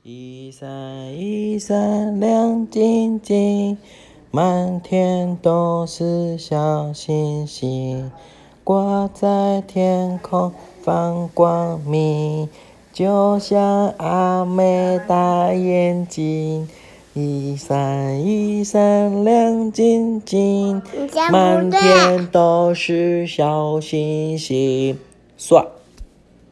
一閃一閃亮晶晶，滿天都是小星星，掛在天空放光明，就像阿妹大眼睛。一閃一閃亮晶晶，滿天都是小星星。算。